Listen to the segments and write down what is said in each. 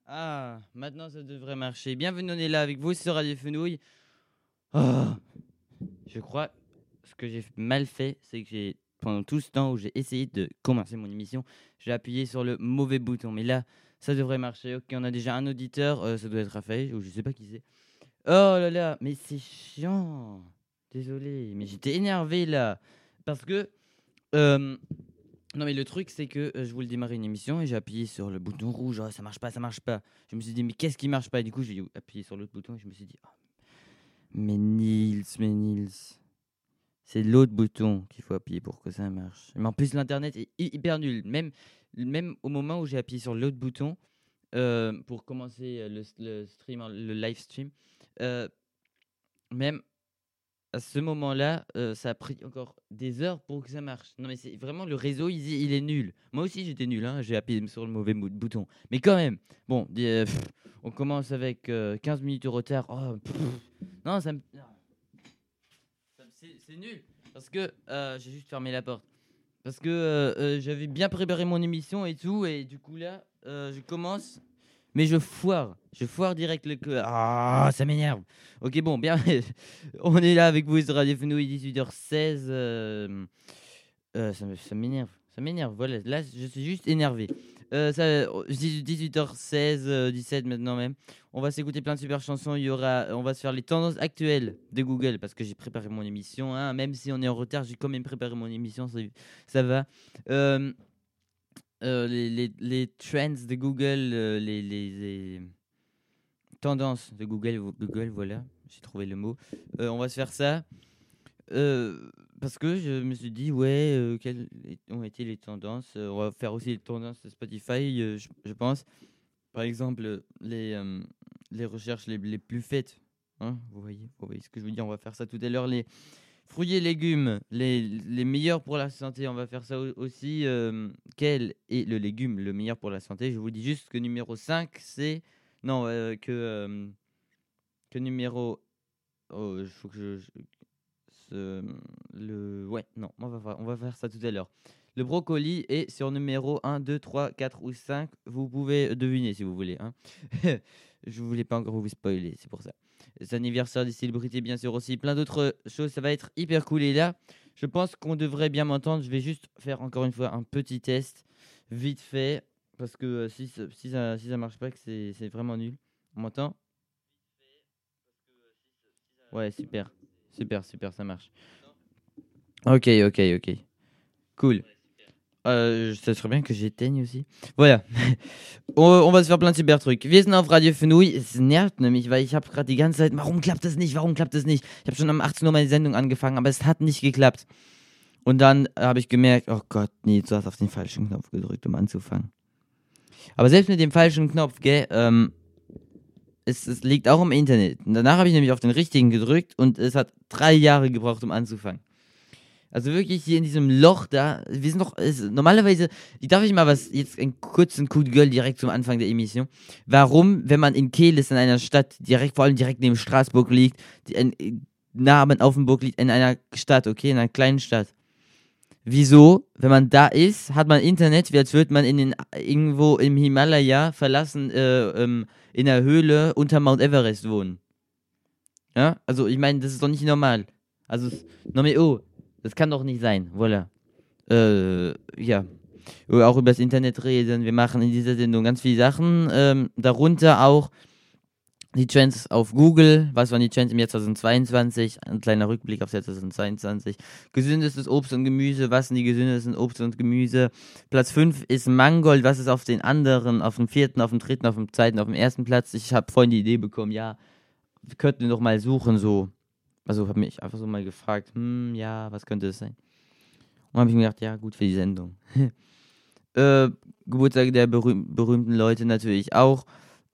Ah, maintenant ça devrait marcher. Bienvenue, on est là avec vous sur Radio Fenouil. Oh, je crois ce que j'ai mal fait, c'est que pendant tout ce temps où j'ai essayé de commencer mon émission, j'ai appuyé sur le mauvais bouton. Mais là, ça devrait marcher. Ok, on a déjà un auditeur, ça doit être Raphaël, ou je sais pas qui c'est. Oh là là, mais c'est chiant. Désolé, mais j'étais énervé là. Parce que euh, non, mais le truc, c'est que je voulais démarrer une émission et j'ai appuyé sur le bouton rouge. Ah, ça marche pas, ça marche pas. Je me suis dit, mais qu'est-ce qui marche pas? Et du coup, j'ai appuyé sur l'autre bouton et je me suis dit, ah, mais Nils, c'est l'autre bouton qu'il faut appuyer pour que ça marche. Mais en plus, l'internet est hyper nul. Même au moment où j'ai appuyé sur l'autre bouton pour commencer le stream, le live stream, euh, même à ce moment-là, ça a pris encore des heures pour que ça marche. Non, mais c'est vraiment le réseau, il est nul. Moi aussi, j'étais nul, hein, j'ai appuyé sur le mauvais bouton. Mais quand même, bon, on commence avec 15 minutes de retard. Oh, non, non, c'est nul. Parce que j'ai juste fermé la porte. Parce que j'avais bien préparé mon émission et tout, et du coup là, je commence. Mais je foire. Je foire direct le cœur. Ah, ça m'énerve. Ok, bon, bien. On est là avec vous sur Radio Fenouil, 18h16. Ça m'énerve. Ça m'énerve. Voilà, là, je suis juste énervé. 18h16, 17 maintenant même. On va s'écouter plein de super chansons. On va se faire les tendances actuelles de Google parce que j'ai préparé mon émission, hein. Même si on est en retard, j'ai quand même préparé mon émission. Ça va. Euh, les trends de Google, les tendances de Google, voilà, j'ai trouvé le mot. On va se faire ça parce que je me suis dit, ouais, quelles ont été les tendances. On va faire aussi les tendances de Spotify, je pense. Par exemple, les recherches les plus faites. Hein, vous voyez ce que je veux dire. On va faire ça tout à l'heure. Les fruits et légumes, les meilleurs pour la santé, on va faire ça aussi. Quel est le légume le meilleur pour la santé? Je vous dis juste que numéro 5 c'est... Non, que numéro... Oh, il faut que Ouais, non, on va faire ça tout à l'heure. Le brocoli est sur numéro 1, 2, 3, 4 ou 5. Vous pouvez deviner si vous voulez, hein. Je voulais pas encore vous spoiler, c'est pour ça. Les anniversaires des célébrités, bien sûr aussi. Plein d'autres choses. Ça va être hyper cool. Et là, je pense qu'on devrait bien m'entendre. Je vais juste faire encore une fois un petit test, vite fait. Parce que si ça marche pas, que c'est vraiment nul. On m'entend? Ouais, super. Super, super, ça marche. Ok, ok, ok. Cool. Ça serait bien que j'éteigne aussi. Voilà. On va se faire plein de super trucs. Wir sind auf Radio Fenui. Es nervt nämlich, weil ich habe gerade die ganze Zeit, warum klappt das nicht? Warum klappt das nicht? Ich habe schon um 18 Uhr meine Sendung angefangen, aber es hat nicht geklappt. Und dann habe ich gemerkt, oh Gott, nee, du hast auf den falschen Knopf gedrückt, um anzufangen. Aber selbst mit dem falschen Knopf, gell, es liegt auch im Internet. Und danach habe ich nämlich auf den richtigen gedrückt und es hat 3 Jahre gebraucht, um anzufangen. Also wirklich hier in diesem Loch da, wir sind doch, normalerweise, darf ich mal jetzt einen kurzen Coup de gueule direkt zum Anfang der Emission. Warum, wenn man in Kehl ist, in einer Stadt, vor allem direkt neben Straßburg liegt, nah an Offenburg liegt, in einer Stadt, okay, in einer kleinen Stadt. Wieso, wenn man da ist, hat man Internet, wie als würde man irgendwo im Himalaya verlassen, in der Höhle unter Mount Everest wohnen. Ja, also ich meine, das ist doch nicht normal. Also, oh, das kann doch nicht sein, voilà. Ja. Auch über das Internet reden. Wir machen in dieser Sendung ganz viele Sachen. Darunter auch die Trends auf Google. Was waren die Trends im Jahr 2022? Ein kleiner Rückblick auf Jahr 2022. Gesündestes Obst und Gemüse. Was sind die gesündesten Obst und Gemüse? Platz 5 ist Mangold. Was ist auf den anderen? Auf dem 4., auf dem 3., auf dem 2., auf dem 1. Platz? Ich habe vorhin die Idee bekommen, ja, wir könnten doch mal suchen, so. Also habe mich einfach so mal gefragt, ja, was könnte es sein? Und habe ich mir gedacht, ja, gut für die Sendung. Geburtstage der berühmten Leute natürlich auch.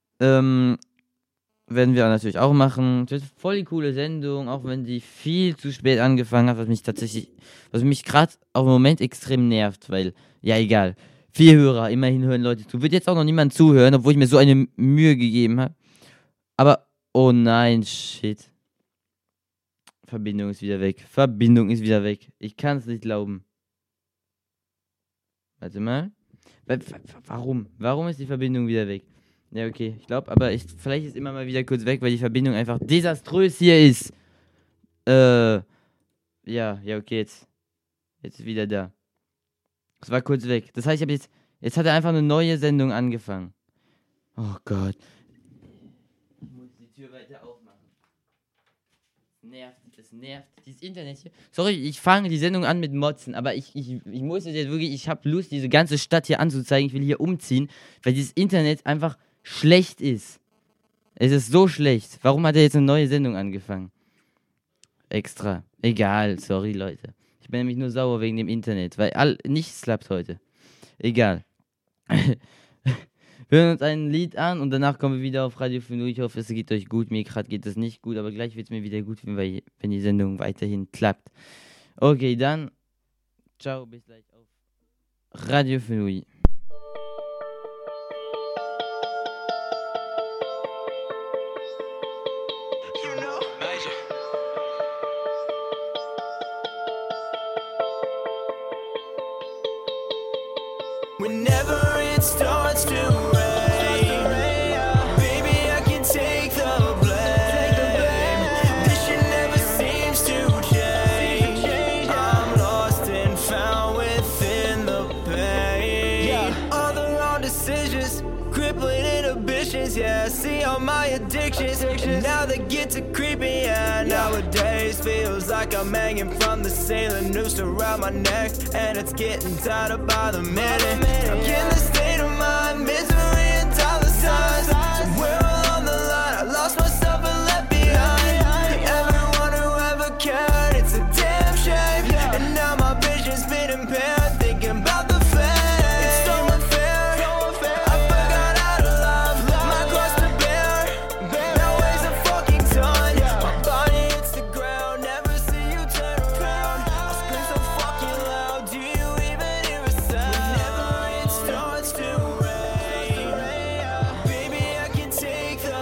Werden wir natürlich auch machen. Das ist voll die coole Sendung, auch wenn die viel zu spät angefangen hat, was mich gerade auf dem Moment extrem nervt, weil, ja, egal. 4 Hörer, immerhin hören Leute zu. Wird jetzt auch noch niemand zuhören, obwohl ich mir so eine Mühe gegeben habe. Aber, oh nein, shit. Verbindung ist wieder weg. Verbindung ist wieder weg. Ich kann es nicht glauben. Warte mal. Warum? Warum ist die Verbindung wieder weg? Ja, okay, ich glaube, aber vielleicht ist immer mal wieder kurz weg, weil die Verbindung einfach desaströs hier ist. Ja, ja, okay, jetzt ist wieder da. Es war kurz weg. Das heißt, jetzt hat er einfach eine neue Sendung angefangen. Oh Gott. Ich muss die Tür weiter aufmachen. Das nervt. Dieses Internet hier. Sorry, ich fange die Sendung an mit Motzen, aber ich muss jetzt wirklich, ich habe Lust, diese ganze Stadt hier anzuzeigen. Ich will hier umziehen, weil dieses Internet einfach schlecht ist. Es ist so schlecht. Warum hat er jetzt eine neue Sendung angefangen? Extra. Egal, sorry, Leute. Ich bin nämlich nur sauer wegen dem Internet, weil nichts klappt heute. Egal. Wir hören uns ein Lied an und danach kommen wir wieder auf Radio 5. Ich hoffe, es geht euch gut. Mir gerade geht es nicht gut, aber gleich wird es mir wieder gut, wenn die Sendung weiterhin klappt. Okay, dann. Ciao, bis gleich auf Radio 5. Whenever it starts to rain, baby, I can take the blame. This shit never seems to change. I'm lost and found within the pain. All the wrong decisions, crippling inhibitions. Yeah, I see all my addictions, and now they get to creepy. Yeah, nowadays feels like I'm hanging from the ceiling, noose around my neck, and it's getting tighter by the minute. I'm in the state of mind, misery and dollar signs. Somewhere along the line, I lost myself and left behind everyone who ever cared. It's a damn shame, and now my vision's been impaired, thinking about the fame. It's so unfair, I forgot how to love, my cross to bear. Now weighs a fucking ton. My body hits the ground, never see you turn around. I scream so fucking loud, do you even hear a sound? Whenever it starts to rain, baby, I can take the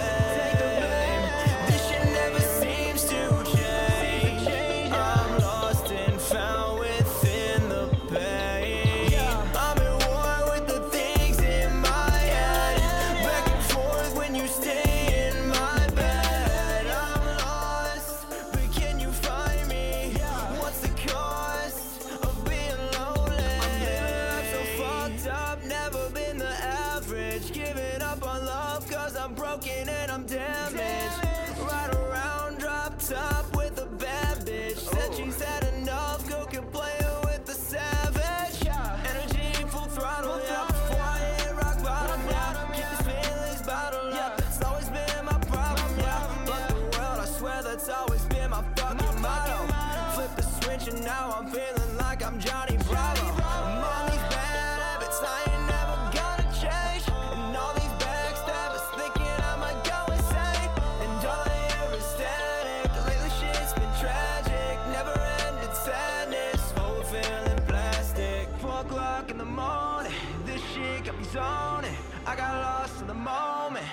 blame. This shit never seems to change. I'm lost and found within the pain. I'm at war with the things in my head, back and forth when you stay in my bed. I'm lost, but can you find me? What's the cost of being lonely? I'm living life so fucked up, never been the average. Giving up on love cause I'm broken and I'm damaged. Ride around drop top with a bad bitch. Said she's had enough, go can play it with the savage. Energy full throttle, yeah. Before I hit rock bottom, yeah. Keep these feelings bottled up, it's always been my problem, yeah. Fuck the world, I swear that's always been my fucking motto. Flip the switch and now I'm feeling like I'm Johnny Bravo. I'm on these bad habits, I ain't never gonna change. And all these backstabbers thinking I might go insane. And all I hear is static, lately shit's been tragic. Never ended sadness, whole feeling plastic. 4 o'clock in the morning, this shit got me zoning. I got lost in the moment.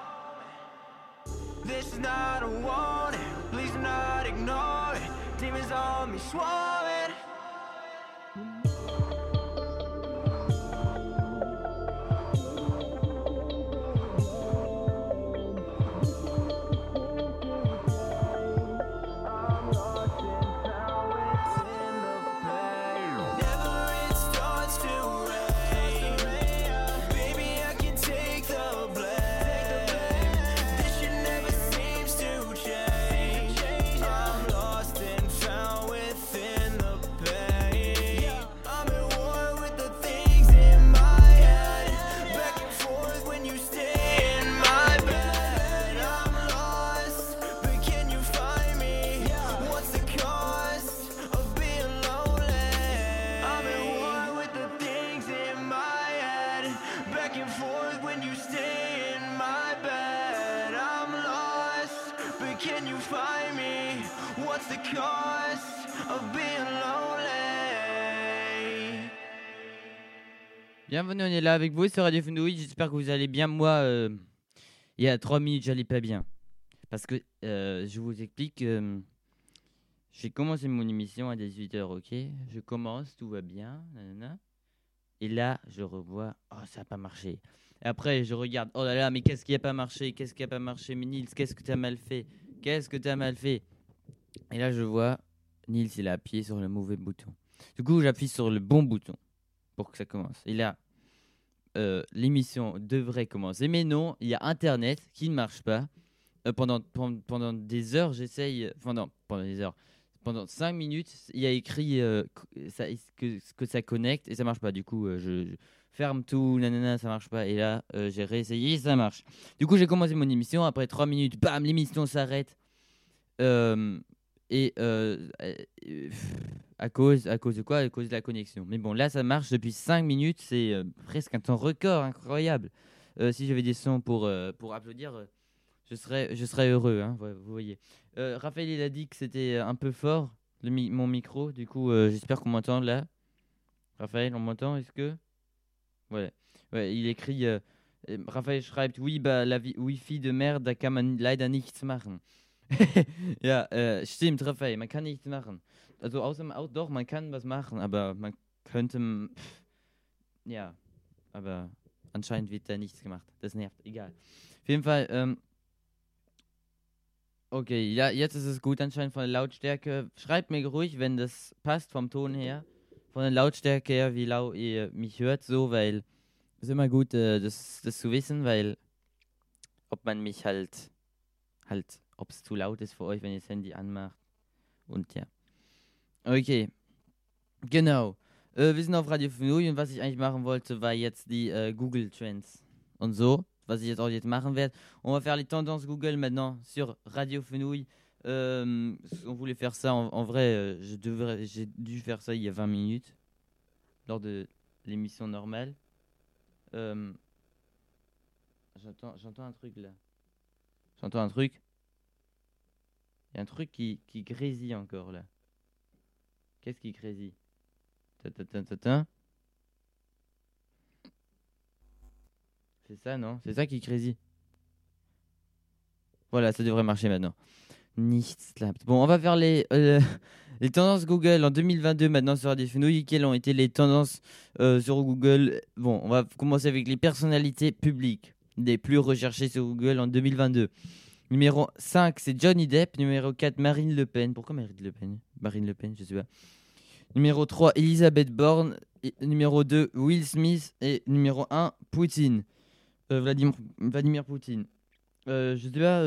This is not a warning, please do not ignore it. Demons on me swarming. Whenever it starts to rain, baby, I can take the blame. This shit never seems to change. I'm lost and found within the pain. I'm at war with the things in my head, back and forth when you stay in my bed. I'm lost, but can you find me? What's the cost of being lonely? I'm at war with the things in my head, back and forth when you stay in my bed. I'm lost, but can you find me? What's the cost of being lonely? Bienvenue, on est là avec vous sur Radio Fenouille. J'espère que vous allez bien. Moi, il y a 3 minutes, j'allais pas bien. Parce que je vous explique. J'ai commencé mon émission à 18h, ok? Je commence, tout va bien. Nanana. Et là, je revois, oh, ça n'a pas marché. Et après, je regarde, oh là là, mais qu'est-ce qui n'a pas marché? Qu'est-ce qui n'a pas marché? Mais Nils, qu'est-ce que tu as mal fait? Qu'est-ce que tu as mal fait? Et là, je vois, Nils, il a appuyé sur le mauvais bouton. Du coup, j'appuie sur le bon bouton pour que ça commence. Et là, l'émission devrait commencer. Mais non, il y a Internet qui ne marche pas. Pendant des heures, j'essaye. Enfin, non, pendant des heures. Pendant 5 minutes, il y a écrit que ça connecte et ça marche pas. Du coup, je ferme tout, nanana, ça marche pas. Et là, j'ai réessayé, ça marche. Du coup, j'ai commencé mon émission. Après 3 minutes, bam, l'émission s'arrête. Euh, et à cause de quoi? À cause de la connexion. Mais bon, là, ça marche depuis 5 minutes. C'est presque un temps record, incroyable. Si j'avais des sons pour applaudir, je serais heureux, hein, vous voyez. Raphaël, il a dit que c'était un peu fort, mon micro. Du coup, j'espère qu'on m'entend là. Raphaël, on m'entend? Est-ce que... Ouais. Ouais, il écrit... Raphaël schreibt, oui, bah, la Wi-Fi de merde, da kann man leider nichts machen. Ja, stimmt, Raphael, man kann nichts machen. Also außer doch, man kann was machen, aber man könnte, ja, aber anscheinend wird da nichts gemacht. Das nervt, egal. Auf jeden Fall, okay, ja, jetzt ist es gut anscheinend von der Lautstärke. Schreibt mir ruhig, wenn das passt vom Ton her, von der Lautstärke her, wie laut ihr mich hört, so, weil es ist immer gut, das zu wissen, weil ob man mich halt, ob es zu laut ist für euch, wenn ihr das Handy anmacht. Und ja. Okay, genau. Wir sind auf Radio Fenouille und was ich eigentlich machen wollte, war jetzt die Google Trends und so. Was ich jetzt machen werde. On va faire les tendances Google maintenant sur Radio Fenouille. On voulait faire ça en vrai. J'ai dû faire ça il y a 20 minutes lors de l'émission normale. J'entends un truc là. J'entends un truc. Il y a un truc qui grésille encore là. Qu'est-ce qui grésille? C'est ça, non? C'est ça qui grésille. Voilà, ça devrait marcher maintenant. Nichts klappt. Bon, on va faire les tendances Google en 2022 maintenant sur Radio Fenouille. Quelles ont été les tendances sur Google? Bon, on va commencer avec les personnalités publiques les plus recherchées sur Google en 2022. Numéro 5, c'est Johnny Depp. Numéro 4, Marine Le Pen. Pourquoi Marine Le Pen? Marine Le Pen, je sais pas. Numéro 3, Elisabeth Borne. Numéro 2, Will Smith. Et numéro 1, Poutine. Vladimir Poutine. Je sais pas.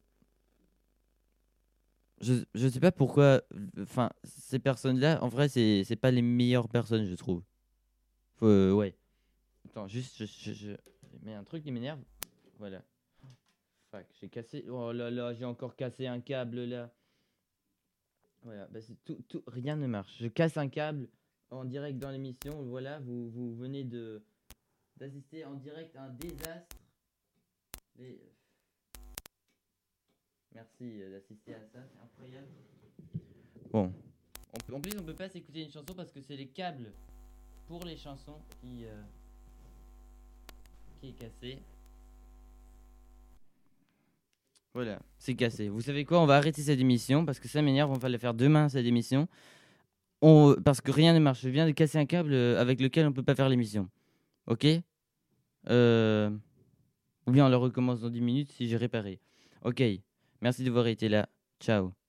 Je sais pas pourquoi. Enfin, ces personnes-là, en vrai, c'est pas les meilleures personnes, je trouve. Ouais. Attends, juste, je mets un truc qui m'énerve. Voilà. Fuck, j'ai cassé. Oh là là, j'ai encore cassé un câble là. Voilà, bah c'est tout, rien ne marche. Je casse un câble en direct dans l'émission. Voilà, vous venez d'assister en direct à un désastre. Merci d'assister à ça, c'est incroyable. Bon, en plus on peut pas s'écouter une chanson parce que c'est les câbles pour les chansons qui est cassé. Voilà, c'est cassé. Vous savez quoi? On va arrêter cette émission parce que ça m'énerve. On va la faire demain cette émission. Parce que rien ne marche. Je viens de casser un câble avec lequel on peut pas faire l'émission. Ok? Ou bien on le recommence dans 10 minutes si j'ai réparé. Ok. Merci d'avoir été là. Ciao.